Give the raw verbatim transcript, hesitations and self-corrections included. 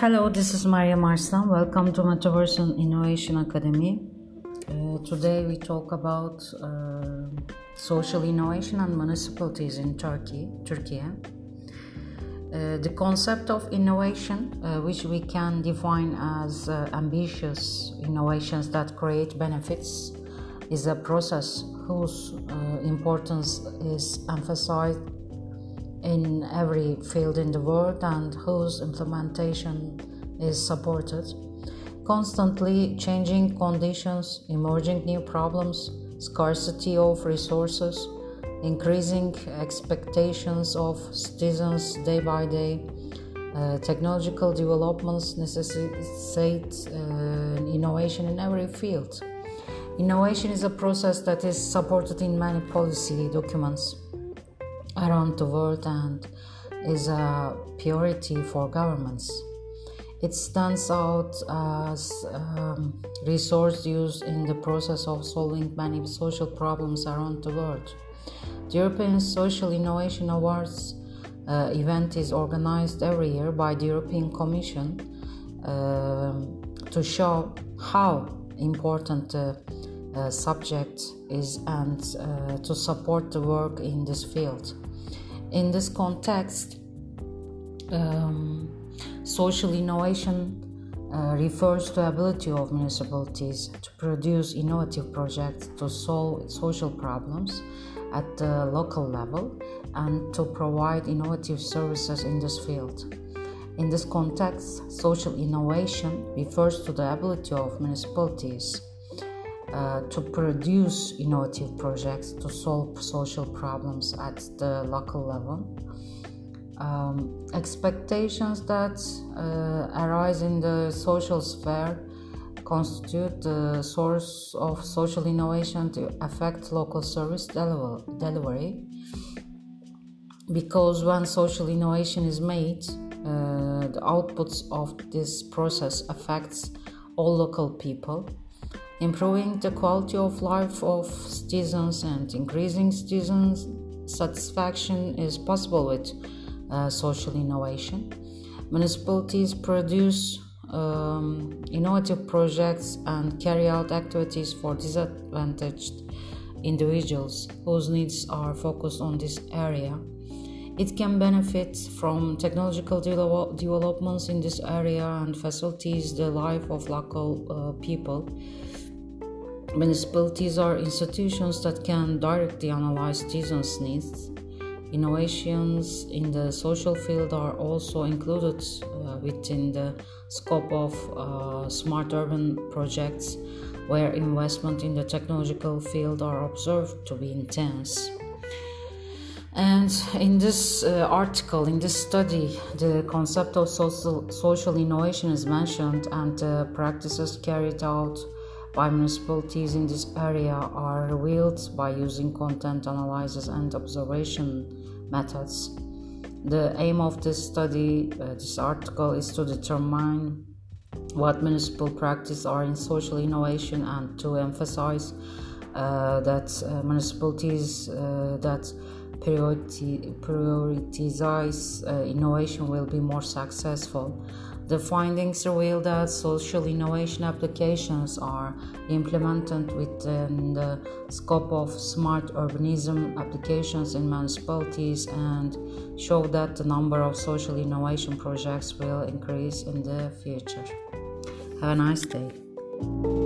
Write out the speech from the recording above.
Hello, this is Maria Marslan. Welcome to Metaverse and Innovation Academy. Uh, today we talk about uh, social innovation and municipalities in Turkey, Turkey. Uh, the concept of innovation, uh, which we can define as uh, ambitious innovations that create benefits, is a process whose uh, importance is emphasized in every field in the world and whose implementation is supported. Constantly changing conditions, emerging new problems, scarcity of resources, increasing expectations of citizens day by day, uh, technological developments necessitate uh, innovation in every field. Innovation is a process that is supported in many policy documents around the world and is a priority for governments. It stands out as um, resource use in the process of solving many social problems around the world. The European Social Innovation Awards uh, event is organized every year by the European Commission uh, to show how important the uh, subject is and uh, to support the work in this field. In this context, um, social innovation uh, refers to the ability of municipalities to produce innovative projects to solve social problems at the local level and to provide innovative services in this field. In this context, social innovation refers to the ability of municipalities Uh, to produce innovative projects to solve social problems at the local level. Um, expectations that uh, arise in the social sphere constitute the source of social innovation to affect local service deliver- delivery. Because when social innovation is made, uh, the outputs of this process affects all local people, improving the quality of life of citizens and increasing citizens' satisfaction is possible with uh, social innovation. Municipalities produce um, innovative projects and carry out activities for disadvantaged individuals whose needs are focused on this area. It can benefit from technological de- developments in this area and facilitates the life of local uh, people. Municipalities are institutions that can directly analyze citizens' needs. Innovations in the social field are also included uh, within the scope of uh, smart urban projects, where investment in the technological field are observed to be intense. And in this uh, article, in this study, the concept of social, social innovation is mentioned, and the practices carried out by municipalities in this area are revealed by using content analysis and observation methods. The aim of this study, uh, this article, is to determine what municipal practices are in social innovation and to emphasize uh, that uh, municipalities uh, that priority, prioritize uh, innovation will be more successful. The findings reveal that social innovation applications are implemented within the scope of smart urbanism applications in municipalities and show that the number of social innovation projects will increase in the future. Have a nice day.